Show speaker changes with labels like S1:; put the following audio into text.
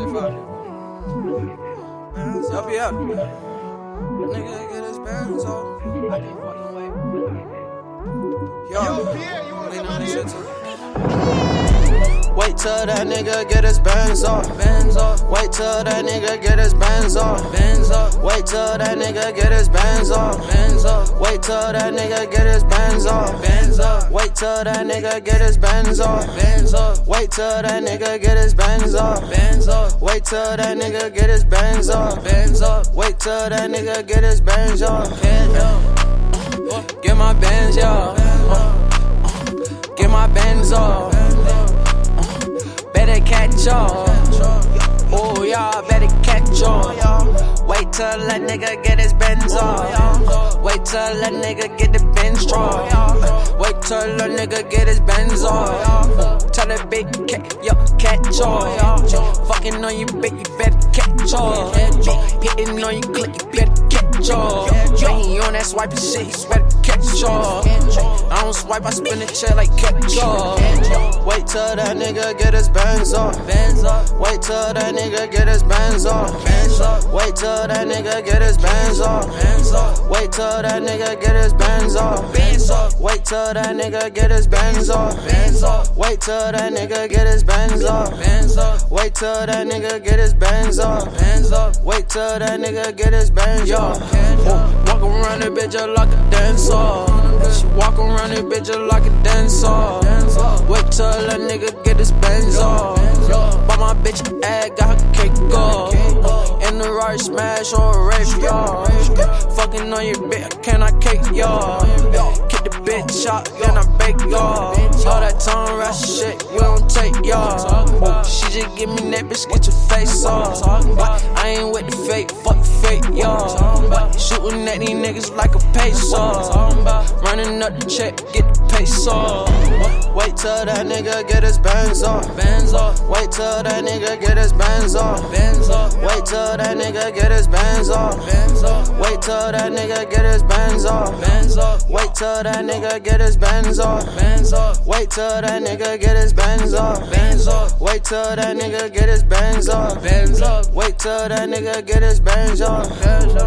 S1: Y'all be out. Nigga get his bands off. I can't fucking wait. Yo, Pierre, you wanna come out here? Wait till that nigga get his bands off. Bands off. Wait till that nigga get his bands off. Bands off. Wait till that nigga get his bands off. Bands off. Wait till that nigga get his bands off. Bands off. Wait till that nigga get his bands off. Bands off. Wait till that nigga get his bands off. Bands off. Wait till that nigga get his bands off. Bands off. Wait till that nigga get his bands off. Get my bands, y'all. Get my bands off. Better catch y'all. Oh, y'all better catch y'all. Wait till that nigga get his Benz off. Wait till that nigga get the Benz draw. Wait till that nigga get his Benz off. Tell that big cat, yo, catch y'all. Fucking on you, bitch, you better catch y'all. Hitting on you, click, you better catch y'all. Ain't on that swiping shit, you better catch y'all. I don't swipe, I spin the chair like catch y'all. Wait till that nigga get his Benz off. Wait till that nigga get his Benz off. Wait till that nigga get his Benz off. Wait till that nigga get his Benz off. Wait till that nigga get his Benz off. Wait till that nigga get his Benz off. Wait till that nigga get his Benz off. Wait till that nigga get his Benz off. Walk around that bitch just like a dancer. She walk around that bitch just like a dancer. Wait till that nigga get his Benz off. But my bitch ass got her cake off. In the right smash or rape, y'all. Fucking on your bitch, can I cake, y'all? Kick the bitch out, then I bake, y'all. All that tongue rush shit, we don't take, y'all. She just give me that bitch, get your face off. I ain't with the fake, fuck fake, y'all. Shooting at these niggas like a peso. Running up the check, get the peso. Wait till that nigga get his bands off. Wait till that nigga get his bands off. Wait till that nigga get his bands off. Wait till that nigga get his bands off. Wait till that nigga get his bands off. Wait till that nigga get his bands off. Wait till that nigga get his bands off. Wait till that nigga get his bands off.